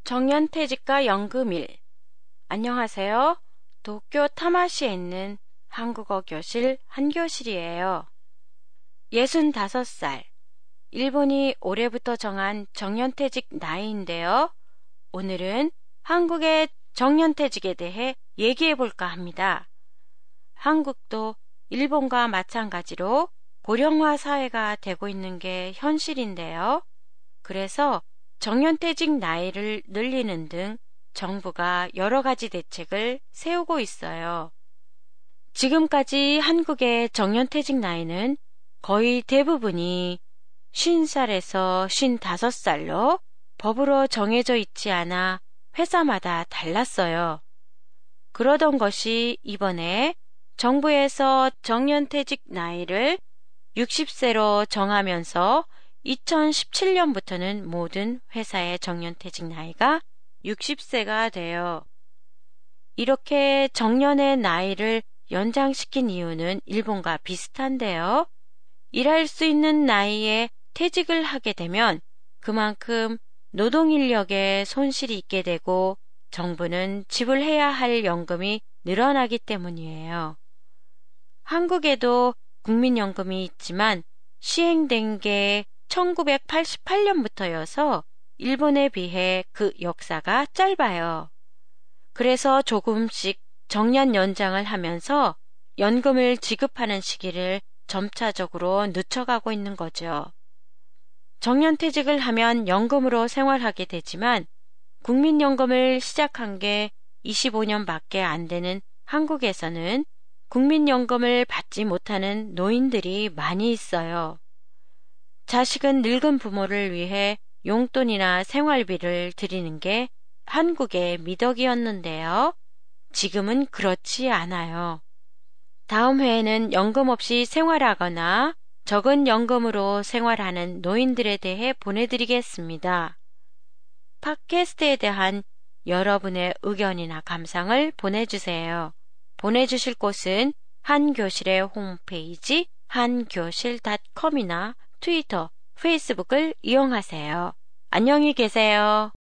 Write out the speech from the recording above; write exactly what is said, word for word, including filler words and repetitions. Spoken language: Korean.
정년퇴직과 연금일. 안녕하세요. 도쿄 타마시에 있는 한국어 교실 한교실이에요. 예순다섯 살. 일본이 올해부터 정한 정년퇴직 나이인데요. 오늘은 한국의 정년퇴직에 대해 얘기해 볼까 합니다. 한국도 일본과 마찬가지로 고령화 사회가 되고 있는 게 현실인데요. 그래서 정년퇴직 나이를 늘리는 등 정부가 여러 가지 대책을 세우고 있어요. 지금까지 한국의 정년퇴직 나이는 거의 대부분이 쉰 살에서 쉰다섯 살로 법으로 정해져 있지 않아 회사마다 달랐어요. 그러던 것이 이번에 정부에서 정년퇴직 나이를 육십 세로 정하면서 이천십칠 년부터는 모든 회사의 정년퇴직 나이가 육십 세가 돼요. 이렇게 정년의 나이를 연장시킨 이유는 일본과 비슷한데요. 일할 수 있는 나이에 퇴직을 하게 되면 그만큼 노동인력에 손실이 있게 되고 정부는 지불해야 할 연금이 늘어나기 때문이에요. 한국에도 국민연금이 있지만 시행된 게 천구백팔십팔 년부터여서 일본에 비해 그 역사가 짧아요. 그래서 조금씩 정년 연장을 하면서 연금을 지급하는 시기를 점차적으로 늦춰가고 있는 거죠. 정년퇴직을 하면 연금으로 생활하게 되지만 국민연금을 시작한 게 이십오 년밖에 안 되는 한국에서는 국민연금을 받지 못하는 노인들이 많이 있어요. 자식은 늙은 부모를 위해 용돈이나 생활비를 드리는 게 한국의 미덕이었는데요. 지금은 그렇지 않아요. 다음 회에는 연금 없이 생활하거나 적은 연금으로 생활하는 노인들에 대해 보내드리겠습니다. 팟캐스트에 대한 여러분의 의견이나 감상을 보내주세요. 보내주실 곳은 한교실의 홈페이지 한교실 닷컴이나 트위터, 페이스북을 이용하세요. 안녕히 계세요.